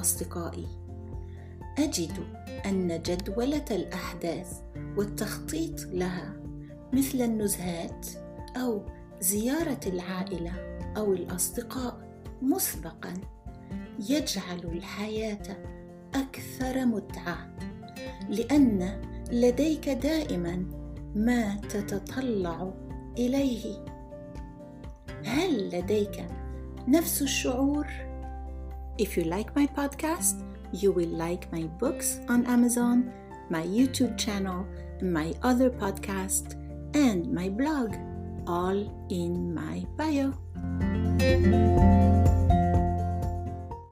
أصدقائي، أجد أن جدولة الأحداث والتخطيط لها مثل النزهات أو زيارة العائلة أو الأصدقاء مسبقاً يجعل الحياة أكثر متعة، لأن لديك دائماً ما تتطلع إليه. هل لديك نفس الشعور؟ If you like my podcast, you will like my books on Amazon, my YouTube channel, my other podcast, and my blog, all in my bio.